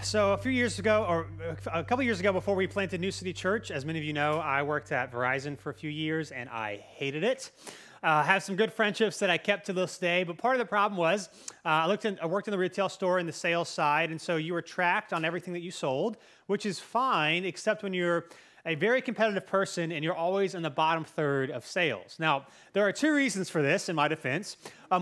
So a few years ago, or a couple years ago before we planted New City Church, as many of you know, I worked at Verizon for a few years and I hated it. I have some good friendships that I kept to this day, but part of the problem was I worked in the retail store in the sales side, and so you were tracked on everything that you sold, which is fine, except when you're a very competitive person and you're always in the bottom third of sales. Now, there are two reasons for this in my defense.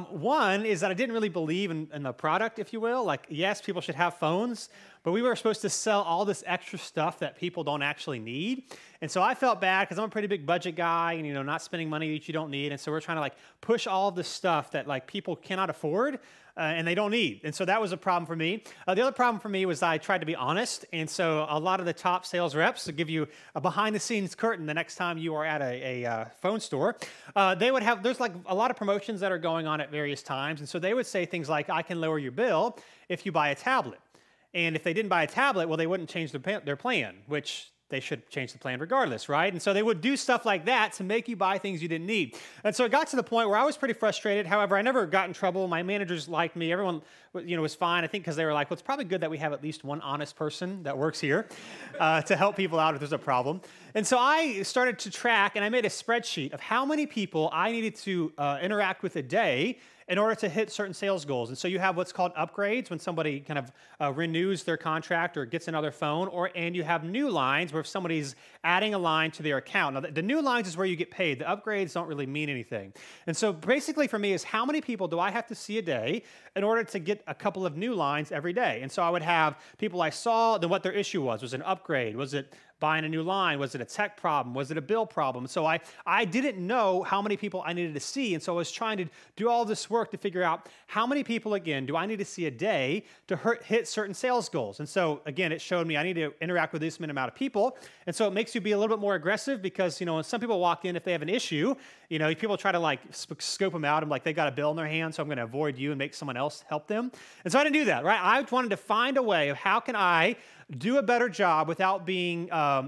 One is that I didn't really believe in the product, if you will. Like, yes, people should have phones, but we were supposed to sell all this extra stuff that people don't actually need. And so I felt bad because I'm a pretty big budget guy and, not spending money that you don't need. And so we're trying to push all of this stuff that people cannot afford and they don't need. And so that was a problem for me. The other problem for me was I tried to be honest. And so a lot of the top sales reps to give you a behind the scenes curtain the next time you are at a phone store, there's a lot of promotions that are going on at various times. And so they would say things like, I can lower your bill if you buy a tablet. And if they didn't buy a tablet, well, they wouldn't change their plan, which they should change the plan regardless, right? And so they would do stuff like that to make you buy things you didn't need. And so it got to the point where I was pretty frustrated. However, I never got in trouble. My managers liked me. Everyone, was fine. I think because they were like, well, it's probably good that we have at least one honest person that works here to help people out if there's a problem. And so I started to track, and I made a spreadsheet of how many people I needed to interact with a day in order to hit certain sales goals. And so you have what's called upgrades when somebody kind of renews their contract or gets another phone, and you have new lines where if somebody's adding a line to their account. Now, the new lines is where you get paid. The upgrades don't really mean anything. And so basically for me is how many people do I have to see a day in order to get a couple of new lines every day? And so I would have people I saw, then what their issue was. Was it an upgrade? Was it buying a new line? Was it a tech problem? Was it a bill problem? So I didn't know how many people I needed to see, and so I was trying to do all this work to figure out how many people, again, do I need to see a day to hit certain sales goals. And so, again, it showed me I need to interact with this amount of people, and so it makes you be a little bit more aggressive because, when some people walk in, if they have an issue, people try to scope them out. I'm like, they got a bill in their hand, so I'm going to avoid you and make someone else help them. And so I didn't do that, right? I wanted to find a way of how can I do a better job without being,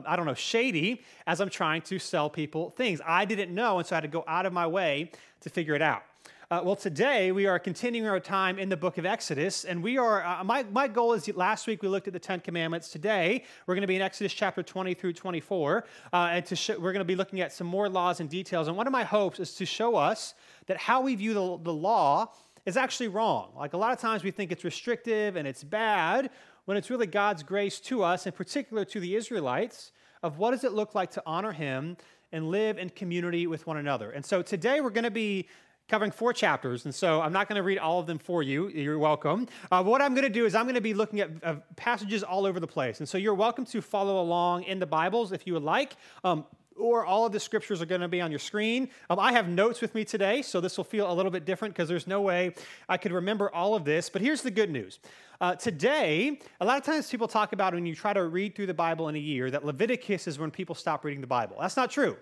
shady as I'm trying to sell people things. I didn't know, and so I had to go out of my way to figure it out. Today we are continuing our time in the book of Exodus, and we are, my goal is last week we looked at the Ten Commandments. Today we're going to be in Exodus chapter 20 through 24, and we're going to be looking at some more laws and details. And one of my hopes is to show us that how we view the law is actually wrong. A lot of times we think it's restrictive and it's bad, when it's really God's grace to us, in particular to the Israelites, of what does it look like to honor Him and live in community with one another. And so today we're going to be covering 4 chapters, and so I'm not going to read all of them for you. You're welcome. What I'm going to do is I'm going to be looking at passages all over the place, and so you're welcome to follow along in the Bibles if you would like. Or all of the scriptures are going to be on your screen. I have notes with me today, so this will feel a little bit different because there's no way I could remember all of this. But here's the good news. Today, a lot of times people talk about when you try to read through the Bible in a year, that Leviticus is when people stop reading the Bible. That's not true.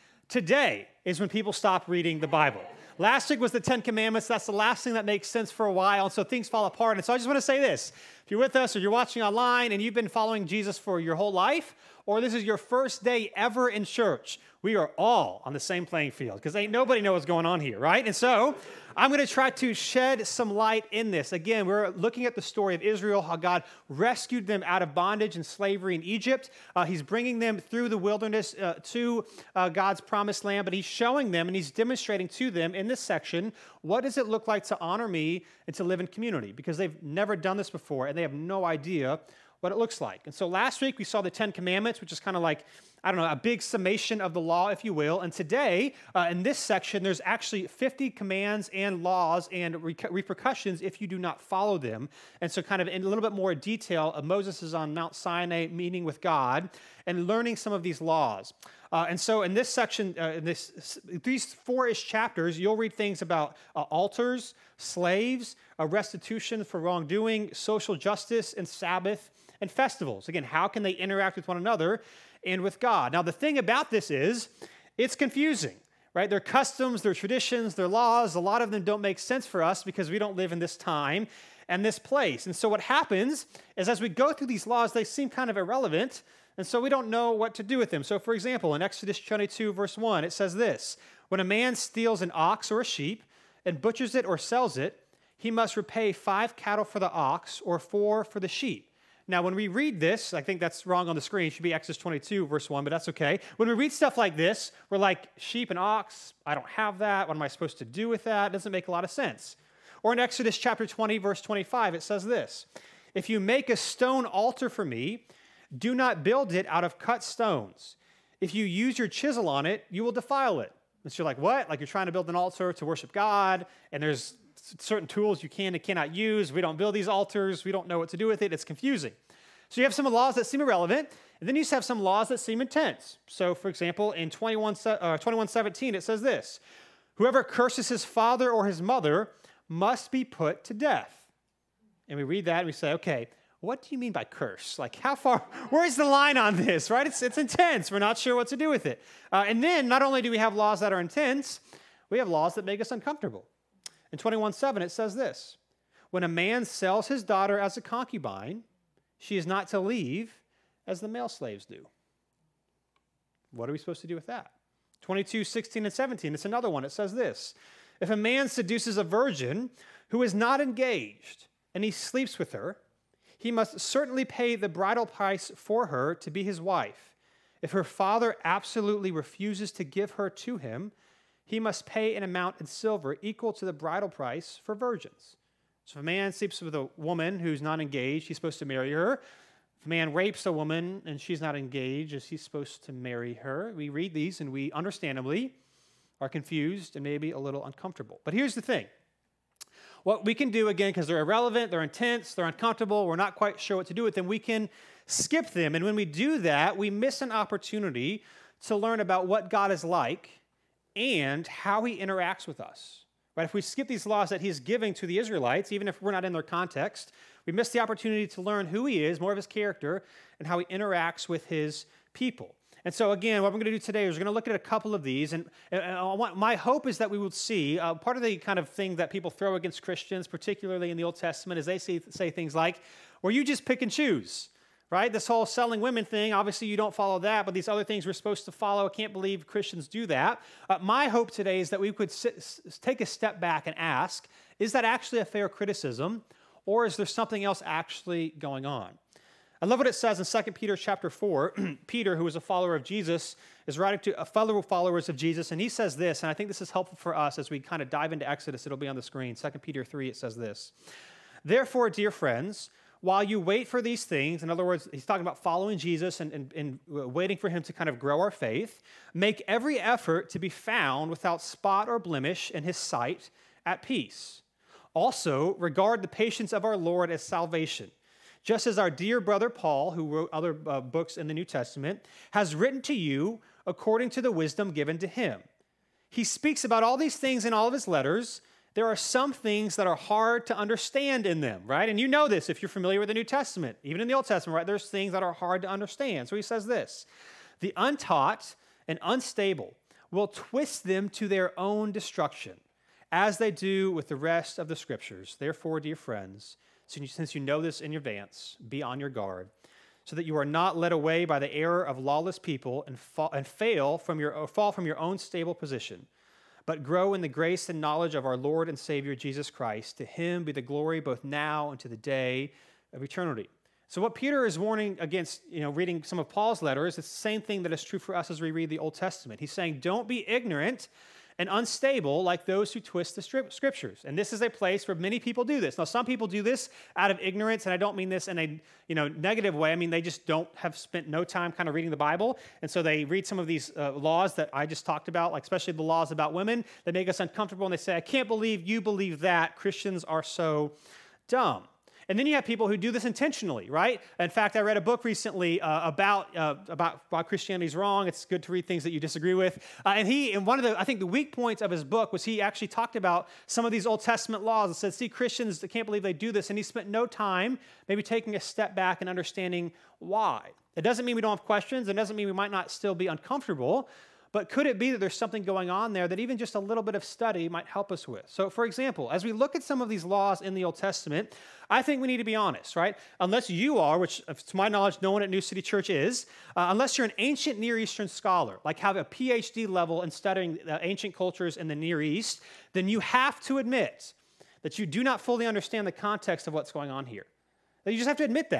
Today is when people stop reading the Bible. Last week was the Ten Commandments. That's the last thing that makes sense for a while, and so things fall apart. And so I just want to say this. If you're with us or you're watching online and you've been following Jesus for your whole life, or this is your first day ever in church, we are all on the same playing field because ain't nobody know what's going on here, right? And so I'm going to try to shed some light in this. Again, we're looking at the story of Israel, how God rescued them out of bondage and slavery in Egypt. He's bringing them through the wilderness to God's promised land, but He's showing them and He's demonstrating to them in this section, what does it look like to honor me and to live in community? Because they've never done this before and they have no idea what it looks like. And so last week we saw the Ten Commandments, which is kind of like, a big summation of the law, if you will. And today, in this section, there's actually 50 commands and laws and repercussions if you do not follow them. And so kind of in a little bit more detail, Moses is on Mount Sinai meeting with God and learning some of these laws. And so in this section, these 4-ish chapters, you'll read things about altars, slaves, restitution for wrongdoing, social justice, and Sabbath, and festivals. Again, how can they interact with one another and with God? Now, the thing about this is it's confusing, right? Their customs, their traditions, their laws, a lot of them don't make sense for us because we don't live in this time and this place. And so what happens is as we go through these laws, they seem kind of irrelevant, and so we don't know what to do with them. So, for example, in Exodus 22, verse 1, it says this: when a man steals an ox or a sheep and butchers it or sells it, he must repay 5 cattle for the ox or 4 for the sheep. Now, when we read this, I think that's wrong on the screen. It should be Exodus 22, verse 1, but that's okay. When we read stuff like this, we're like, sheep and ox, I don't have that. What am I supposed to do with that? It doesn't make a lot of sense. Or in Exodus chapter 20, verse 25, it says this, if you make a stone altar for me, do not build it out of cut stones. If you use your chisel on it, you will defile it. And so you're like, what? Like you're trying to build an altar to worship God, and there's certain tools you can and cannot use. We don't build these altars. We don't know what to do with it. It's confusing. So you have some laws that seem irrelevant, and then you have some laws that seem intense. So, for example, in 21:17, it says this, whoever curses his father or his mother must be put to death. And we read that and we say, okay, what do you mean by curse? Like how far, where's the line on this, right? It's intense. We're not sure what to do with it. And then not only do we have laws that are intense, we have laws that make us uncomfortable. In 21:7, it says this, when a man sells his daughter as a concubine, she is not to leave as the male slaves do. What are we supposed to do with that? 22:16 and 17, it's another one. It says this, if a man seduces a virgin who is not engaged and he sleeps with her, he must certainly pay the bridal price for her to be his wife. If her father absolutely refuses to give her to him, he must pay an amount in silver equal to the bridal price for virgins. So if a man sleeps with a woman who's not engaged, he's supposed to marry her. If a man rapes a woman and she's not engaged, is he supposed to marry her? We read these and we understandably are confused and maybe a little uncomfortable. But here's the thing. What we can do, again, because they're irrelevant, they're intense, they're uncomfortable, we're not quite sure what to do with them, we can skip them. And when we do that, we miss an opportunity to learn about what God is like and how he interacts with us. Right? If we skip these laws that he's giving to the Israelites, even if we're not in their context, we miss the opportunity to learn who he is, more of his character, and how he interacts with his people. And so again, what we're going to do today is we're going to look at a couple of these, and my hope is that we will see, part of the kind of thing that people throw against Christians, particularly in the Old Testament, is they say things like, well, you just pick and choose. Right? This whole selling women thing, obviously you don't follow that, but these other things we're supposed to follow. I can't believe Christians do that. My hope today is that we could take a step back and ask, is that actually a fair criticism, or is there something else actually going on? I love what it says in 2 Peter chapter 4. Peter, who is a follower of Jesus, is writing to fellow followers of Jesus, and he says this, and I think this is helpful for us as we kind of dive into Exodus. It'll be on the screen. 2 Peter 3, it says this, therefore, dear friends, while you wait for these things, in other words, he's talking about following Jesus and waiting for him to kind of grow our faith, make every effort to be found without spot or blemish in his sight at peace. Also, regard the patience of our Lord as salvation, just as our dear brother Paul, who wrote other books in the New Testament, has written to you according to the wisdom given to him. He speaks about all these things in all of his letters. There are some things that are hard to understand in them, right? And you know this if you're familiar with the New Testament. Even in the Old Testament, right? There's things that are hard to understand. So he says this, the untaught and unstable will twist them to their own destruction, as they do with the rest of the Scriptures. Therefore, dear friends, since you know this in advance, be on your guard, so that you are not led away by the error of lawless people and fall from your own stable position, but grow in the grace and knowledge of our Lord and Savior, Jesus Christ. To him be the glory both now and to the day of eternity. So what Peter is warning against, reading some of Paul's letters, it's the same thing that is true for us as we read the Old Testament. He's saying, don't be ignorant and unstable like those who twist the Scriptures. And this is a place where many people do this. Now, some people do this out of ignorance, and I don't mean this in a negative way. I mean, they just don't have spent no time kind of reading the Bible, and so they read some of these laws that I just talked about, like especially the laws about women, that make us uncomfortable, and they say, I can't believe you believe that. Christians are so dumb. And then you have people who do this intentionally, right? In fact, I read a book recently about why Christianity is wrong. It's good to read things that you disagree with. And one of the weak points of his book was he actually talked about some of these Old Testament laws and said, see, Christians, I can't believe they do this. And he spent no time maybe taking a step back and understanding why. It doesn't mean we don't have questions. It doesn't mean we might not still be uncomfortable. But could it be that there's something going on there that even just a little bit of study might help us with? So, for example, as we look at some of these laws in the Old Testament, I think we need to be honest, right? Unless you are, which to my knowledge, no one at New City Church is, unless you're an ancient Near Eastern scholar, like have a PhD level in studying ancient cultures in the Near East, then you have to admit that you do not fully understand the context of what's going on here. You just have to admit that.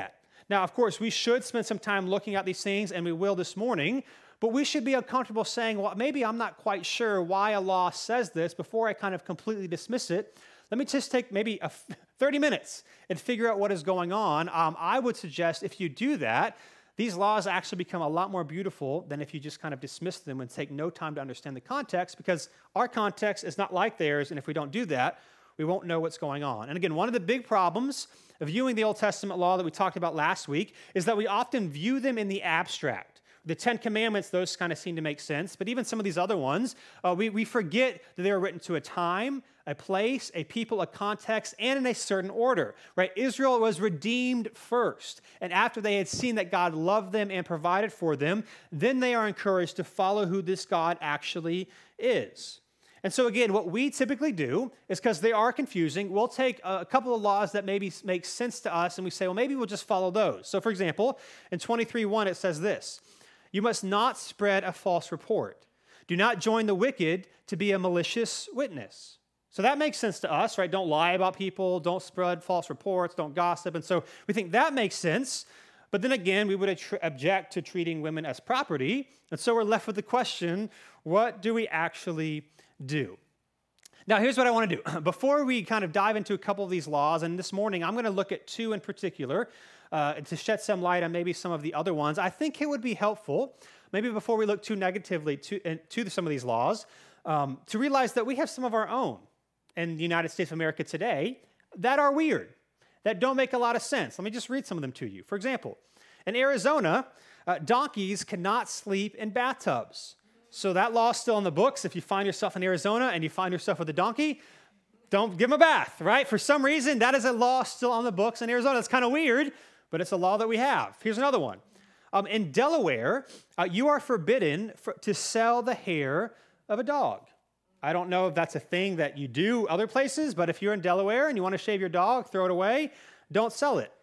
Now, of course, we should spend some time looking at these things, and we will this morning, but we should be uncomfortable saying, well, maybe I'm not quite sure why a law says this before I kind of completely dismiss it. Let me just take maybe 30 minutes and figure out what is going on. I would suggest if you do that, these laws actually become a lot more beautiful than if you just kind of dismiss them and take no time to understand the context, because our context is not like theirs, and if we don't do that, we won't know what's going on. And again, one of the big problems of viewing the Old Testament law that we talked about last week is that we often view them in the abstract. The Ten Commandments, those kind of seem to make sense, but even some of these other ones, we forget that they were written to a time, a place, a people, a context, and in a certain order, right? Israel was redeemed first, and after they had seen that God loved them and provided for them, then they are encouraged to follow who this God actually is. And so again, what we typically do is, because they are confusing, we'll take a couple of laws that maybe make sense to us, and we say, well, maybe we'll just follow those. So for example, in 23:1, it says this: you must not spread a false report. Do not join the wicked to be a malicious witness. So that makes sense to us, right? Don't lie about people, don't spread false reports, don't gossip. And so we think that makes sense. But then again, we would object to treating women as property. And so we're left with the question, what do we actually do? Now, here's what I want to do. Before we kind of dive into a couple of these laws, and this morning I'm going to look at two in particular to shed some light on maybe some of the other ones. I think it would be helpful, maybe before we look too negatively to some of these laws, to realize that we have some of our own in the United States of America today that are weird, that don't make a lot of sense. Let me just read some of them to you. For example, in Arizona, donkeys cannot sleep in bathtubs. So that law is still in the books. If you find yourself in Arizona and you find yourself with a donkey, don't give him a bath, right? For some reason, that is a law still on the books in Arizona. It's kind of weird, but it's a law that we have. Here's another one. In Delaware, you are forbidden to sell the hair of a dog. I don't know if that's a thing that you do other places, but if you're in Delaware and you want to shave your dog, throw it away, don't sell it.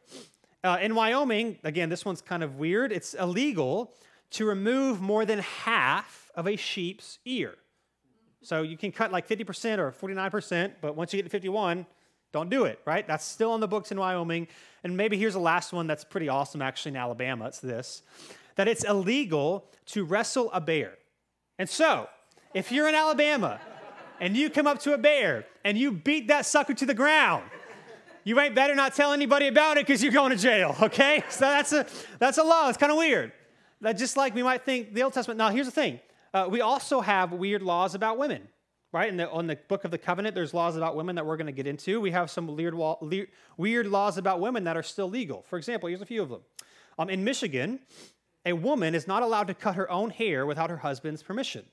In Wyoming, again, this one's kind of weird. It's illegal to remove more than half of a sheep's ear. So you can cut like 50% or 49%, but once you get to 51, don't do it, right? That's still on the books in Wyoming. And maybe here's the last one that's pretty awesome actually in Alabama. It's this, that it's illegal to wrestle a bear. And so, if you're in Alabama and you come up to a bear and you beat that sucker to the ground, you ain't better not tell anybody about it because you're going to jail, okay? So that's a law. It's kind of weird. That just like we might think the Old Testament. Now, here's the thing. We also have weird laws about women, right? On the Book of the Covenant, there's laws about women that we're going to get into. We have some weird laws about women that are still legal. For example, here's a few of them. In Michigan, a woman is not allowed to cut her own hair without her husband's permission.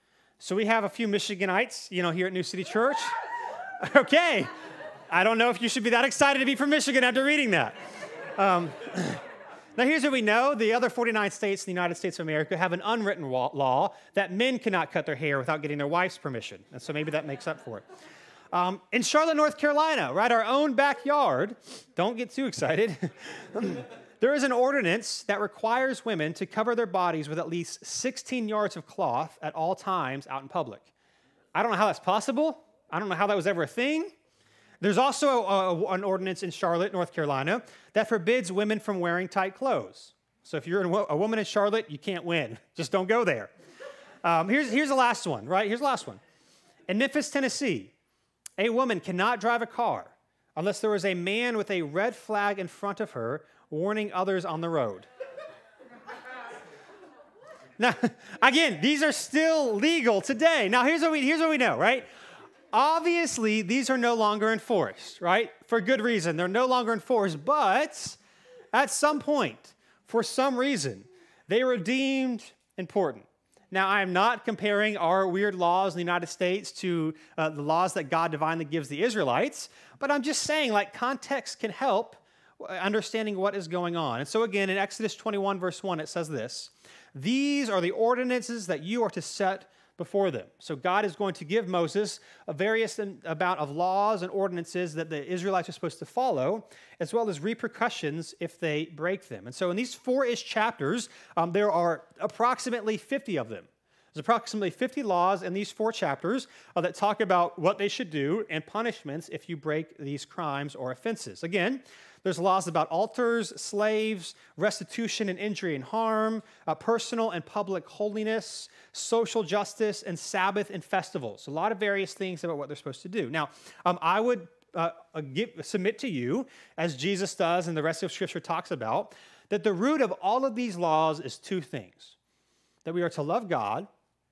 So we have a few Michiganites, here at New City Church. Okay. I don't know if you should be that excited to be from Michigan after reading that. Now, here's what we know. The other 49 states in the United States of America have an unwritten law that men cannot cut their hair without getting their wife's permission. And so maybe that makes up for it. In Charlotte, North Carolina, right, our own backyard, don't get too excited, there is an ordinance that requires women to cover their bodies with at least 16 yards of cloth at all times out in public. I don't know how that's possible. I don't know how that was ever a thing. There's also an ordinance in Charlotte, North Carolina, that forbids women from wearing tight clothes. So if you're a woman in Charlotte, you can't win. Just don't go there. Here's the last one, right? Here's the last one. In Memphis, Tennessee, a woman cannot drive a car unless there is a man with a red flag in front of her warning others on the road. Now, again, these are still legal today. Now, here's what we know, right? Obviously, these are no longer enforced, right? For good reason. They're no longer enforced, but at some point, for some reason, they were deemed important. Now, I am not comparing our weird laws in the United States to the laws that God divinely gives the Israelites, but I'm just saying, context can help understanding what is going on. And so again, in Exodus 21, verse 1, it says this: "These are the ordinances that you are to set before them." So God is going to give Moses a various amount of laws and ordinances that the Israelites are supposed to follow, as well as repercussions if they break them. And so in these 4-ish chapters, there are approximately 50 of them. There's approximately 50 laws in these 4 chapters that talk about what they should do and punishments if you break these crimes or offenses. Again, There's laws about altars, slaves, restitution and injury and harm, personal and public holiness, social justice, and Sabbath and festivals. A lot of various things about what they're supposed to do. Now, I would submit to you, as Jesus does and the rest of Scripture talks about, that the root of all of these laws is two things: that we are to love God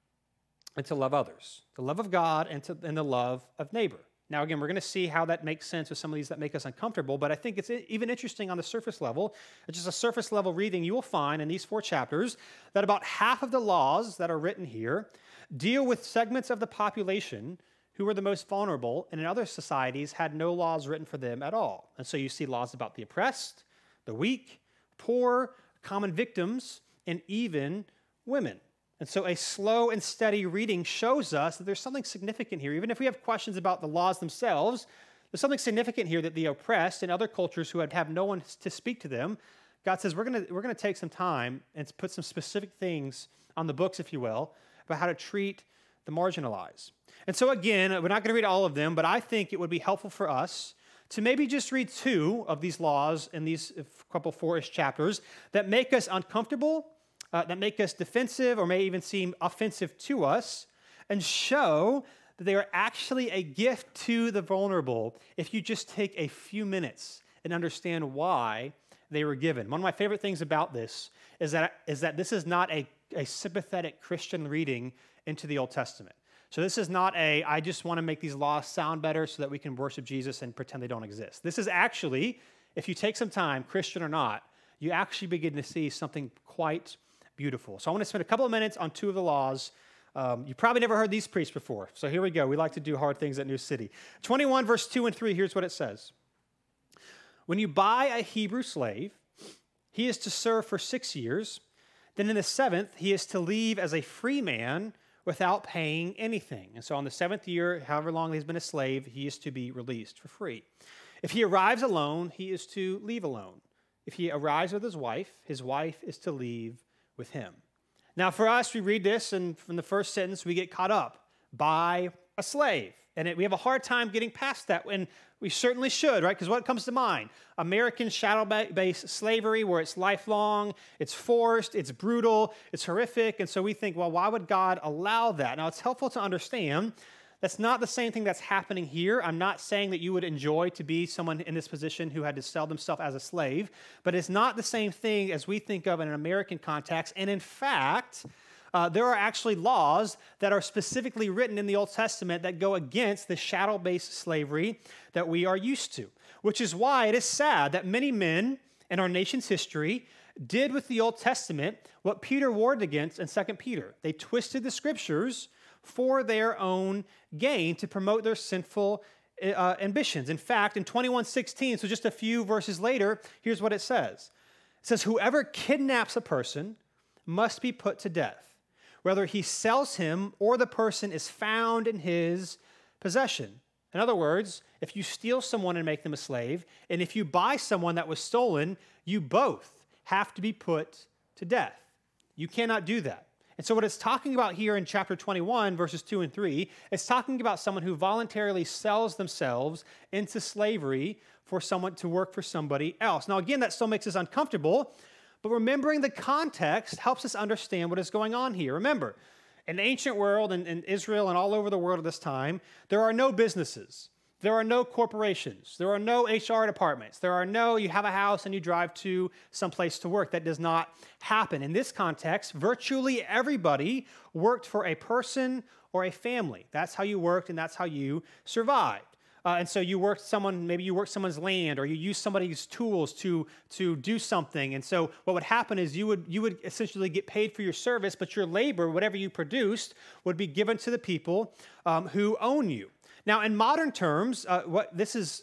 and to love others. The love of God and the love of neighbor. Now, again, we're going to see how that makes sense with some of these that make us uncomfortable, but I think it's even interesting on the surface level. It's just a surface level reading. You will find in these 4 chapters that about half of the laws that are written here deal with segments of the population who were the most vulnerable, and in other societies had no laws written for them at all. And so you see laws about the oppressed, the weak, poor, common victims, and even women. And so a slow and steady reading shows us that there's something significant here. Even if we have questions about the laws themselves, there's something significant here that the oppressed and other cultures who have no one to speak to them, God says, we're going to take some time and put some specific things on the books, if you will, about how to treat the marginalized. And so again, we're not going to read all of them, but I think it would be helpful for us to maybe just read 2 of these laws in these couple 4-ish chapters that make us uncomfortable, that make us defensive, or may even seem offensive to us, and show that they are actually a gift to the vulnerable if you just take a few minutes and understand why they were given. One of my favorite things about this is that this is not a sympathetic Christian reading into the Old Testament. So this is not I just want to make these laws sound better so that we can worship Jesus and pretend they don't exist. This is actually, if you take some time, Christian or not, you actually begin to see something quite beautiful. So I want to spend a couple of minutes on 2 of the laws. You probably never heard these preached before. So here we go. We like to do hard things at New City. 21 verse 2 and 3, here's what it says. When you buy a Hebrew slave, he is to serve for 6 years. Then in the 7th, he is to leave as a free man without paying anything. And so on the 7th year, however long he's been a slave, he is to be released for free. If he arrives alone, he is to leave alone. If he arrives with his wife is to leave with him. Now for us, we read this, and from the first sentence, we get caught up by a slave. And we have a hard time getting past that, and we certainly should, right? Because what comes to mind? American shadow-based slavery, where it's lifelong, it's forced, it's brutal, it's horrific, and so we think, well, why would God allow that? Now, it's helpful to understand that's not the same thing that's happening here. I'm not saying that you would enjoy to be someone in this position who had to sell themselves as a slave, but it's not the same thing as we think of in an American context, and in fact, there are actually laws that are specifically written in the Old Testament that go against the shadow-based slavery that we are used to, which is why it is sad that many men in our nation's history did with the Old Testament what Peter warned against in 2 Peter. They twisted the scriptures for their own gain to promote their sinful ambitions. In fact, in 21:16, so just a few verses later, here's what it says. It says, whoever kidnaps a person must be put to death, whether he sells him or the person is found in his possession. In other words, if you steal someone and make them a slave, and if you buy someone that was stolen, you both have to be put to death. You cannot do that. And so what it's talking about here in chapter 21, verses 2 and 3, it's talking about someone who voluntarily sells themselves into slavery for someone to work for somebody else. Now, again, that still makes us uncomfortable, but remembering the context helps us understand what is going on here. Remember, in the ancient world, and in Israel and all over the world at this time, there are no businesses. There are no corporations. There are no HR departments. You have a house and you drive to someplace to work. That does not happen. In this context, virtually everybody worked for a person or a family. That's how you worked and that's how you survived. And so maybe you worked someone's land, or you used somebody's tools to do something. And so what would happen is you would essentially get paid for your service, but your labor, whatever you produced, would be given to the people who own you. Now, in modern terms, here's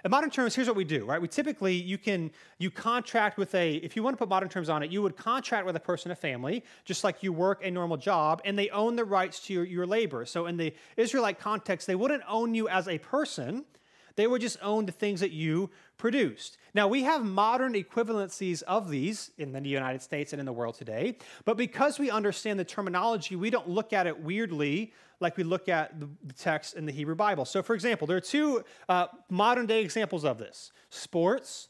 what we do, right? We typically, you contract with if you want to put modern terms on it, you would contract with a person, a family, just like you work a normal job, and they own the rights to your labor. So in the Israelite context, they wouldn't own you as a person. They would just own the things that you produced. Now, we have modern equivalencies of these in the United States and in the world today, but because we understand the terminology, we don't look at it weirdly like we look at the text in the Hebrew Bible. So, for example, there are 2 modern-day examples of this: sports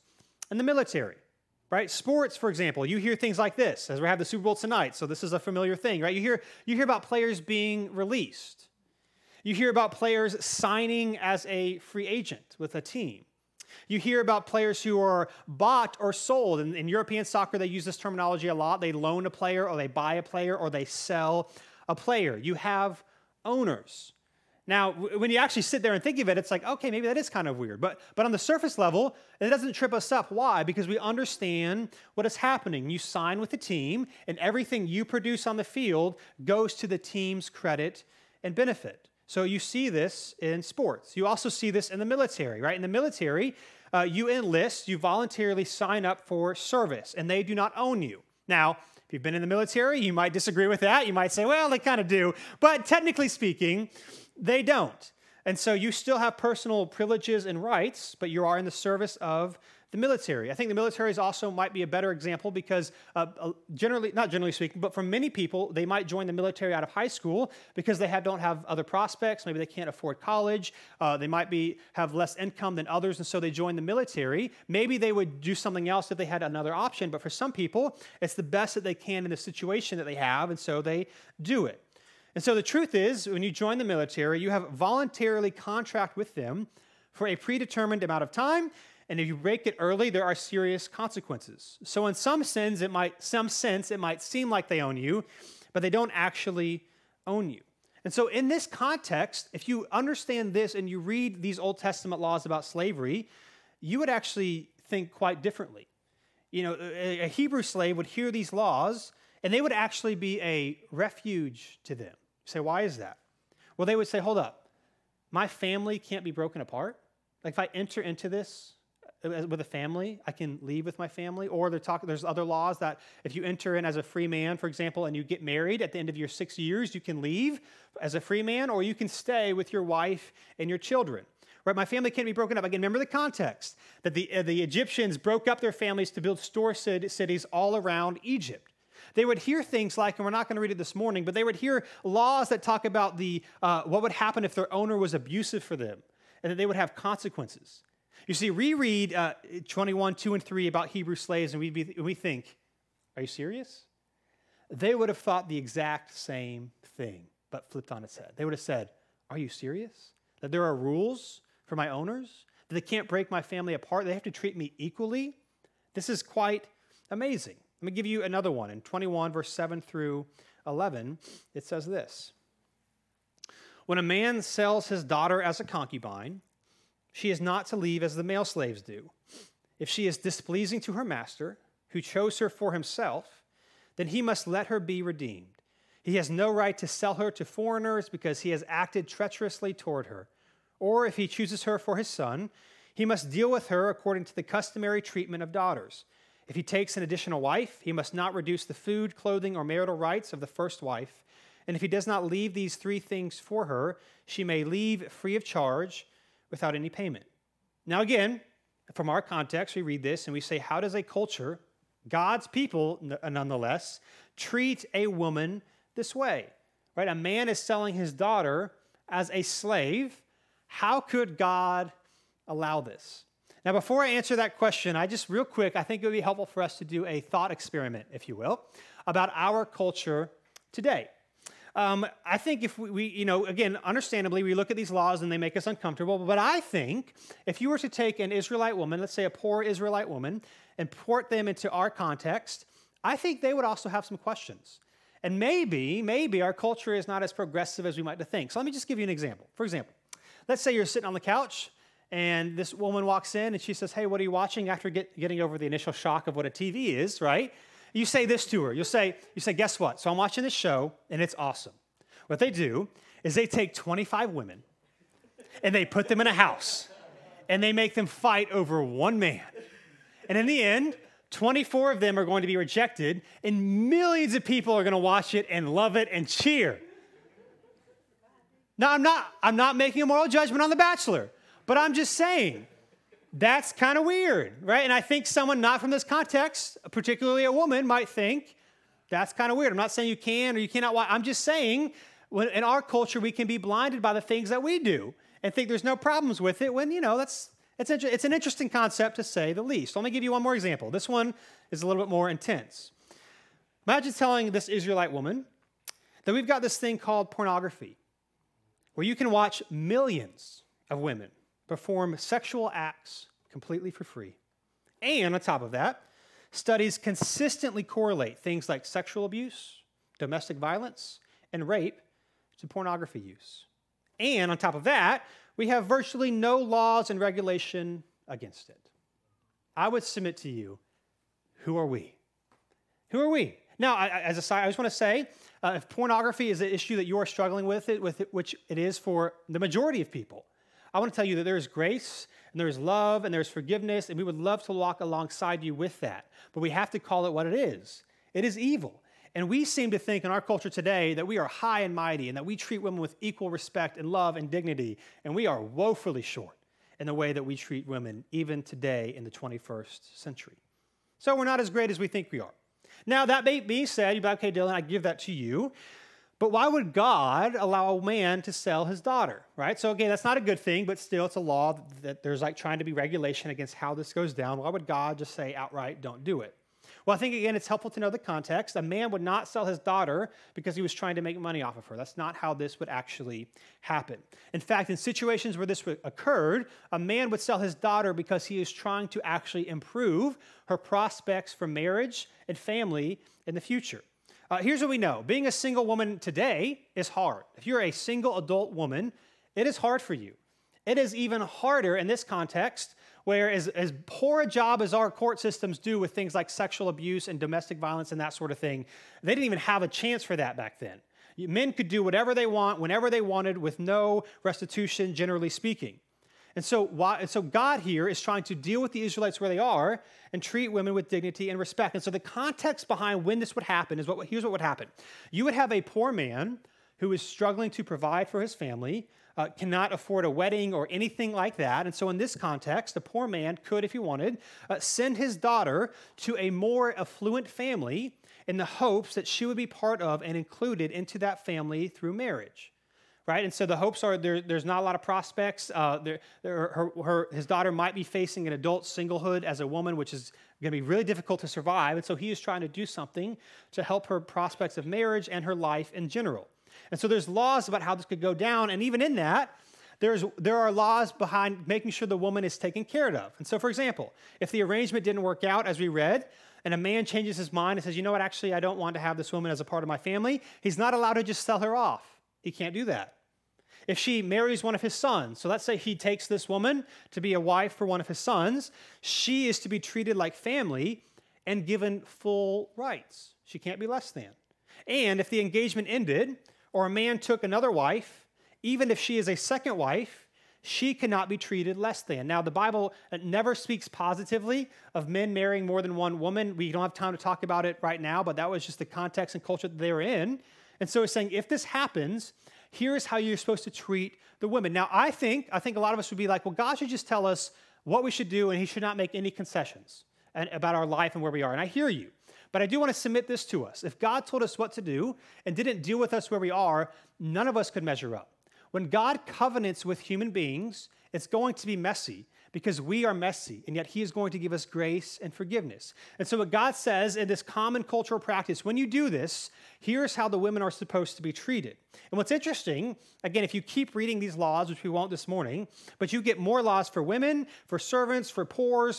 in the military, right? Sports, for example, you hear things like this, as we have the Super Bowl tonight, so this is a familiar thing, right? You hear about players being released. You hear about players signing as a free agent with a team. You hear about players who are bought or sold. In European soccer, they use this terminology a lot. They loan a player, or they buy a player, or they sell a player. You have owners. Now, when you actually sit there and think of it, it's like, okay, maybe that is kind of weird. But on the surface level, it doesn't trip us up. Why? Because we understand what is happening. You sign with the team, and everything you produce on the field goes to the team's credit and benefit. So you see this in sports. You also see this in the military, right? In the military, you enlist, you voluntarily sign up for service, and they do not own you. Now, if you've been in the military, you might disagree with that. You might say, well, they kind of do. But technically speaking, they don't. And so you still have personal privileges and rights, but you are in the service of the military. I think the military is also might be a better example because not generally speaking, but for many people, they might join the military out of high school because they don't have other prospects. Maybe they can't afford college. They might have less income than others, and so they join the military. Maybe they would do something else if they had another option, but for some people, it's the best that they can in the situation that they have, and so they do it. And so the truth is, when you join the military, you have voluntarily contract with them for a predetermined amount of time, and if you break it early, there are serious consequences. So in some sense, it might seem like they own you, but they don't actually own you. And so in this context, if you understand this and you read these Old Testament laws about slavery, you would actually think quite differently. You know, a Hebrew slave would hear these laws, and they would actually be a refuge to them. You say, why is that? Well, they would say, hold up, my family can't be broken apart. Like if I enter into this with a family, I can leave with my family. Or there's other laws that if you enter in as a free man, for example, and you get married at the end of your 6 years, you can leave as a free man, or you can stay with your wife and your children. Right? My family can't be broken up. Again, remember the context that the Egyptians broke up their families to build store cities all around Egypt. They would hear things like, and we're not going to read it this morning, but they would hear laws that talk about what would happen if their owner was abusive for them, and that they would have consequences. You see, reread 21, 2 and 3 about Hebrew slaves, and we think, are you serious? They would have thought the exact same thing, but flipped on its head. They would have said, are you serious? That there are rules for my owners? That they can't break my family apart? They have to treat me equally? This is quite amazing. Let me give you another one. In 21, verse 7 through 11, it says this. When a man sells his daughter as a concubine, she is not to leave as the male slaves do. If she is displeasing to her master, who chose her for himself, then he must let her be redeemed. He has no right to sell her to foreigners because he has acted treacherously toward her. Or if he chooses her for his son, he must deal with her according to the customary treatment of daughters. If he takes an additional wife, he must not reduce the food, clothing, or marital rights of the first wife. And if he does not leave these three things for her, she may leave free of charge without any payment. Now again, from our context, we read this and we say, how does a culture, God's people nonetheless, treat a woman this way? Right? A man is selling his daughter as a slave. How could God allow this? Now, before I answer that question, I think it would be helpful for us to do a thought experiment, if you will, about our culture today. I think if we, again, understandably, we look at these laws and they make us uncomfortable, but I think if you were to take an Israelite woman, let's say a poor Israelite woman, and port them into our context, I think they would also have some questions. And maybe our culture is not as progressive as we might think. So let me just give you an example. For example, let's say you're sitting on the couch and this woman walks in and she says, hey, what are you watching? After getting over the initial shock of what a TV is, right? You say this to her. You say, guess what? So I'm watching this show, and it's awesome. What they do is they take 25 women, and they put them in a house, and they make them fight over one man. And in the end, 24 of them are going to be rejected, and millions of people are going to watch it and love it and cheer. Now, I'm not making a moral judgment on The Bachelor, but I'm just saying, that's kind of weird, right? And I think someone not from this context, particularly a woman, might think that's kind of weird. I'm not saying you can or you cannot watch. I'm just saying in our culture, we can be blinded by the things that we do and think there's no problems with it when, It's an interesting concept to say the least. Let me give you one more example. This one is a little bit more intense. Imagine telling this Israelite woman that we've got this thing called pornography, where you can watch millions of women perform sexual acts completely for free. And on top of that, studies consistently correlate things like sexual abuse, domestic violence, and rape to pornography use. And on top of that, we have virtually no laws and regulation against it. I would submit to you, who are we? Who are we? Now, as a side, I just want to say, if pornography is an issue that you are struggling with it, which it is for the majority of people, I want to tell you that there is grace, and there is love, and there's forgiveness, and we would love to walk alongside you with that. But we have to call it what it is. It is evil. And we seem to think in our culture today that we are high and mighty and that we treat women with equal respect and love and dignity, and we are woefully short in the way that we treat women even today in the 21st century. So we're not as great as we think we are. Now, that being said, you'd be like, okay, Dylan, I give that to you. But why would God allow a man to sell his daughter, right? So again, that's not a good thing, but still it's a law that there's like trying to be regulation against how this goes down. Why would God just say outright, don't do it? Well, I think, again, it's helpful to know the context. A man would not sell his daughter because he was trying to make money off of her. That's not how this would actually happen. In fact, in situations where this occurred, a man would sell his daughter because he is trying to actually improve her prospects for marriage and family in the future. Here's what we know. Being a single woman today is hard. If you're a single adult woman, it is hard for you. It is even harder in this context where as poor a job as our court systems do with things like sexual abuse and domestic violence and that sort of thing, they didn't even have a chance for that back then. Men could do whatever they want, whenever they wanted, with no restitution, generally speaking. And so God here is trying to deal with the Israelites where they are and treat women with dignity and respect. And so the context behind when this would happen is here's what would happen. You would have a poor man who is struggling to provide for his family, cannot afford a wedding or anything like that. And so in this context, a poor man could, if he wanted, send his daughter to a more affluent family in the hopes that she would be part of and included into that family through marriage. Right? And so the hopes are there's not a lot of prospects. His daughter might be facing an adult singlehood as a woman, which is going to be really difficult to survive. And so he is trying to do something to help her prospects of marriage and her life in general. And so there's laws about how this could go down. And even in that, there are laws behind making sure the woman is taken care of. And so, for example, if the arrangement didn't work out, as we read, and a man changes his mind and says, you know what, actually, I don't want to have this woman as a part of my family, he's not allowed to just sell her off. He can't do that. If she marries one of his sons, so let's say he takes this woman to be a wife for one of his sons, she is to be treated like family and given full rights. She can't be less than. And if the engagement ended, or a man took another wife, even if she is a second wife, she cannot be treated less than. Now, the Bible never speaks positively of men marrying more than one woman. We don't have time to talk about it right now, but that was just the context and culture that they were in. And so it's saying, if this happens, here's how you're supposed to treat the women. Now, I think a lot of us would be like, well, God should just tell us what we should do, and he should not make any concessions about our life and where we are. And I hear you. But I do want to submit this to us. If God told us what to do and didn't deal with us where we are, none of us could measure up. When God covenants with human beings, it's going to be messy because we are messy, and yet he is going to give us grace and forgiveness. And so what God says in this common cultural practice, when you do this, here's how the women are supposed to be treated. And what's interesting, again, if you keep reading these laws, which we won't this morning, but you get more laws for women, for servants, for poor,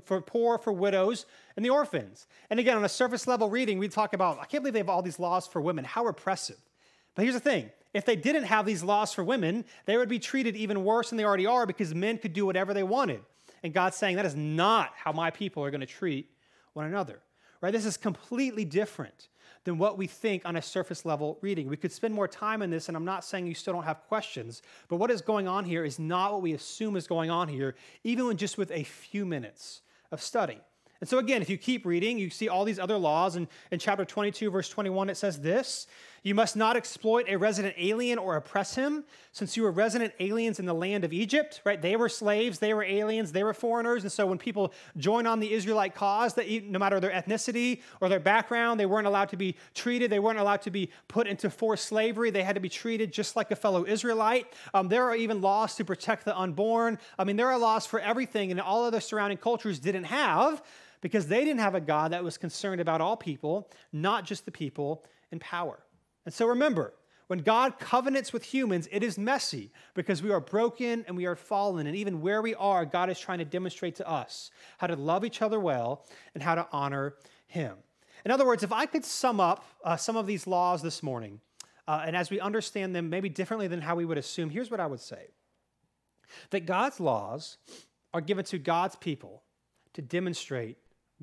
for widows, and the orphans. And again, on a surface level reading, we talk about, I can't believe they have all these laws for women. How repressive. But here's the thing. If they didn't have these laws for women, they would be treated even worse than they already are because men could do whatever they wanted. And God's saying that is not how my people are going to treat one another. Right? This is completely different than what we think on a surface level reading. We could spend more time in this, and I'm not saying you still don't have questions, but what is going on here is not what we assume is going on here, even with a few minutes of study. And so again, if you keep reading, you see all these other laws. And in chapter 22, verse 21, it says this, You must not exploit a resident alien or oppress him, since you were resident aliens in the land of Egypt, right? They were slaves, they were aliens, they were foreigners. And so when people join on the Israelite cause, that no matter their ethnicity or their background, they weren't allowed to be treated. They weren't allowed to be put into forced slavery. They had to be treated just like a fellow Israelite. There are even laws to protect the unborn. There are laws for everything, and all other surrounding cultures didn't have, because they didn't have a God that was concerned about all people, not just the people in power. And so remember, when God covenants with humans, it is messy because we are broken and we are fallen. And even where we are, God is trying to demonstrate to us how to love each other well and how to honor him. In other words, if I could sum up some of these laws this morning, and as we understand them maybe differently than how we would assume, here's what I would say. That God's laws are given to God's people to demonstrate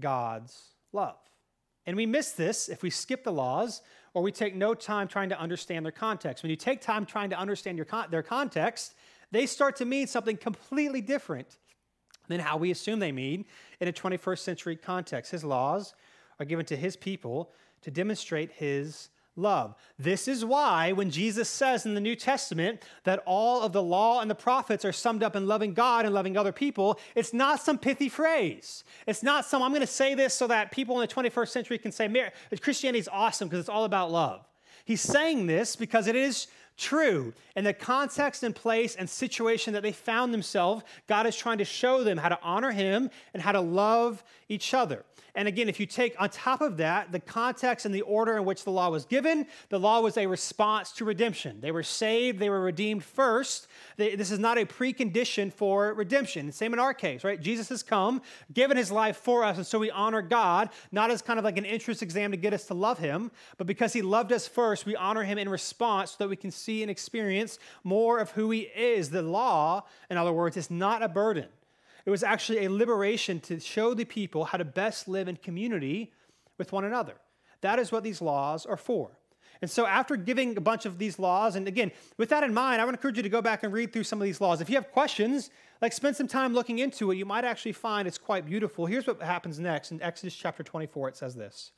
God's love. And we miss this if we skip the laws or we take no time trying to understand their context. When you take time trying to understand their context, they start to mean something completely different than how we assume they mean in a 21st century context. His laws are given to his people to demonstrate his love. This is why when Jesus says in the New Testament that all of the law and the prophets are summed up in loving God and loving other people, it's not some pithy phrase. It's not some, I'm going to say this so that people in the 21st century can say, Christianity is awesome because it's all about love. He's saying this because it is true. In the context and place and situation that they found themselves, God is trying to show them how to honor him and how to love each other. And again, if you take on top of that the context and the order in which the law was given, the law was a response to redemption. They were saved, they were redeemed first. This is not a precondition for redemption. Same in our case, right? Jesus has come, given his life for us, and so we honor God, not as kind of like an entrance exam to get us to love him, but because he loved us first, we honor him in response so that we can see and experience more of who he is. The law, in other words, is not a burden. It was actually a liberation to show the people how to best live in community with one another. That is what these laws are for. And so after giving a bunch of these laws, and again, with that in mind, I would encourage you to go back and read through some of these laws. If you have questions, spend some time looking into it, you might actually find it's quite beautiful. Here's what happens next. In Exodus chapter 24, it says this.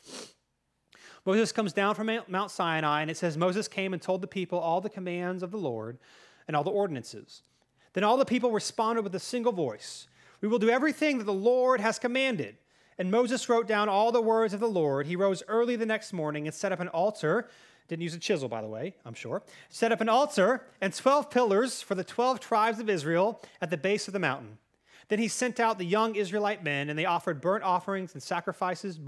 Moses comes down from Mount Sinai, and it says, Moses came and told the people all the commands of the Lord and all the ordinances. Then all the people responded with a single voice. We will do everything that the Lord has commanded. And Moses wrote down all the words of the Lord. He rose early the next morning and set up an altar. Didn't use a chisel, by the way, I'm sure. Set up an altar and 12 pillars for the 12 tribes of Israel at the base of the mountain. Then he sent out the young Israelite men, and they offered burnt offerings and sacrificed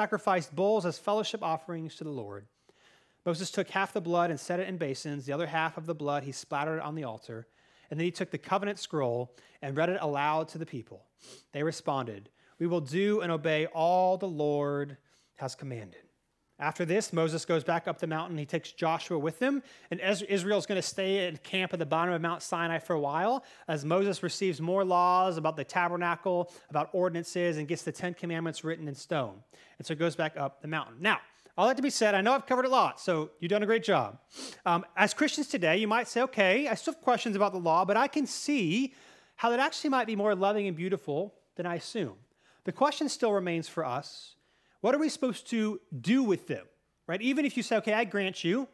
bulls as fellowship offerings to the Lord. Moses took half the blood and set it in basins. The other half of the blood he splattered on the altar. And then he took the covenant scroll and read it aloud to the people. They responded, we will do and obey all the Lord has commanded. After this, Moses goes back up the mountain. He takes Joshua with him, and Israel's going to stay at camp at the bottom of Mount Sinai for a while as Moses receives more laws about the tabernacle, about ordinances, and gets the 10 Commandments written in stone. And so it goes back up the mountain. Now, all that to be said, I know I've covered a lot, so you've done a great job. As Christians today, you might say, okay, I still have questions about the law, but I can see how that actually might be more loving and beautiful than I assume. The question still remains for us, what are we supposed to do with them, right? Even if you say, okay, I grant you,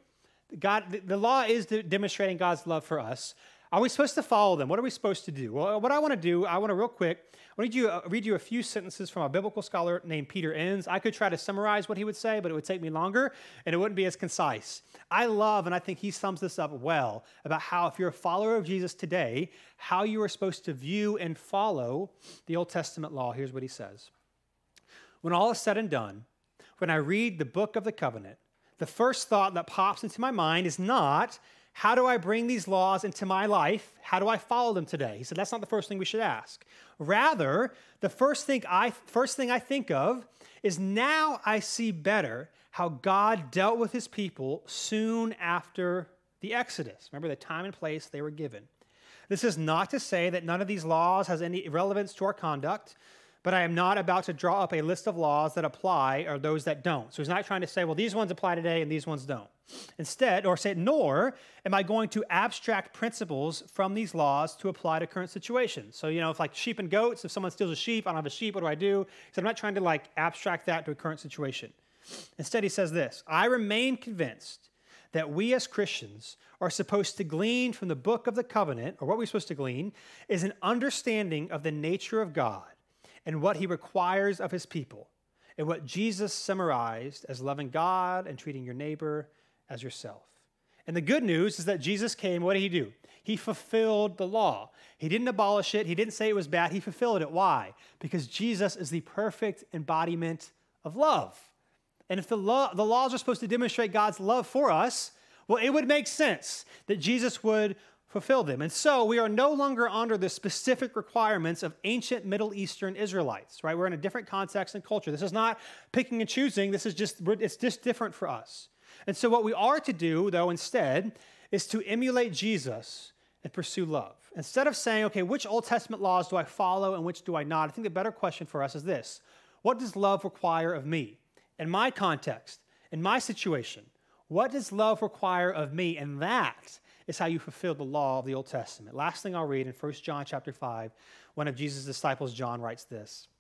the law is demonstrating God's love for us. Are we supposed to follow them? What are we supposed to do? Well, what I want to do, real quick, read you a few sentences from a biblical scholar named Peter Enns. I could try to summarize what he would say, but it would take me longer, and it wouldn't be as concise. I love, and I think he sums this up well, about how if you're a follower of Jesus today, how you are supposed to view and follow the Old Testament law. Here's what he says. When all is said and done, when I read the book of the covenant, the first thought that pops into my mind is not, how do I bring these laws into my life? How do I follow them today? He said, that's not the first thing we should ask. Rather, the first thing I think of is now I see better how God dealt with his people soon after the Exodus. Remember the time and place they were given. This is not to say that none of these laws has any relevance to our conduct, but I am not about to draw up a list of laws that apply or those that don't. So he's not trying to say, well, these ones apply today and these ones don't. Instead, nor am I going to abstract principles from these laws to apply to current situations. So, if like sheep and goats, if someone steals a sheep, I don't have a sheep, what do I do? So I'm not trying to abstract that to a current situation. Instead, he says this, I remain convinced that we as Christians are supposed to glean from the book of the covenant, or what we're supposed to glean, is an understanding of the nature of God and what he requires of his people, and what Jesus summarized as loving God and treating your neighbor as yourself. And the good news is that Jesus came, what did he do? He fulfilled the law. He didn't abolish it. He didn't say it was bad. He fulfilled it. Why? Because Jesus is the perfect embodiment of love. And if the laws are supposed to demonstrate God's love for us, well, it would make sense that Jesus would fulfill them. And so we are no longer under the specific requirements of ancient Middle Eastern Israelites, right? We're in a different context and culture. This is not picking and choosing. It's just different for us. And so what we are to do, though, instead, is to emulate Jesus and pursue love. Instead of saying, okay, which Old Testament laws do I follow and which do I not? I think the better question for us is this: what does love require of me? In my context, in my situation, what does love require of me? And that is how you fulfill the law of the Old Testament. Last thing I'll read in 1 John chapter 5, one of Jesus' disciples, John, writes this.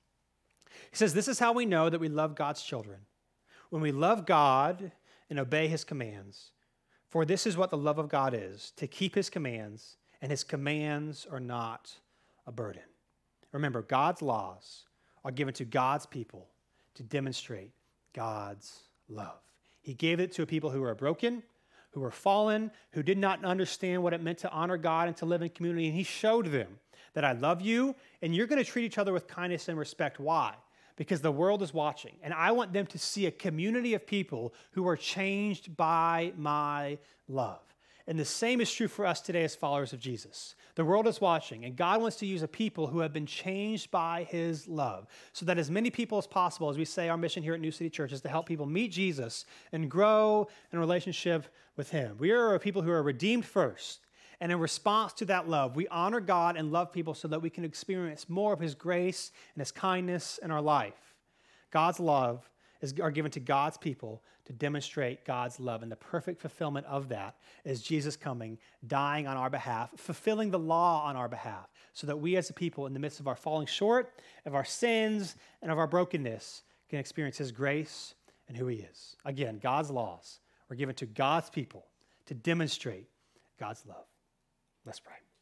He says, "This is how we know that we love God's children, when we love God and obey his commands. For this is what the love of God is, to keep his commands, and his commands are not a burden." Remember, God's laws are given to God's people to demonstrate God's love. He gave it to a people who are broken, who were fallen, who did not understand what it meant to honor God and to live in community. And he showed them that I love you, and you're going to treat each other with kindness and respect. Why? Because the world is watching, and I want them to see a community of people who are changed by my love. And the same is true for us today as followers of Jesus. The world is watching, and God wants to use a people who have been changed by his love, so that as many people as possible, as we say, our mission here at New City Church is to help people meet Jesus and grow in a relationship with him. We are a people who are redeemed first, and in response to that love, we honor God and love people so that we can experience more of his grace and his kindness in our life. God's love are given to God's people to demonstrate God's love, and the perfect fulfillment of that is Jesus coming, dying on our behalf, fulfilling the law on our behalf, so that we as a people, in the midst of our falling short, of our sins, and of our brokenness, can experience his grace and who he is. Again, God's laws were given to God's people to demonstrate God's love. Let's pray.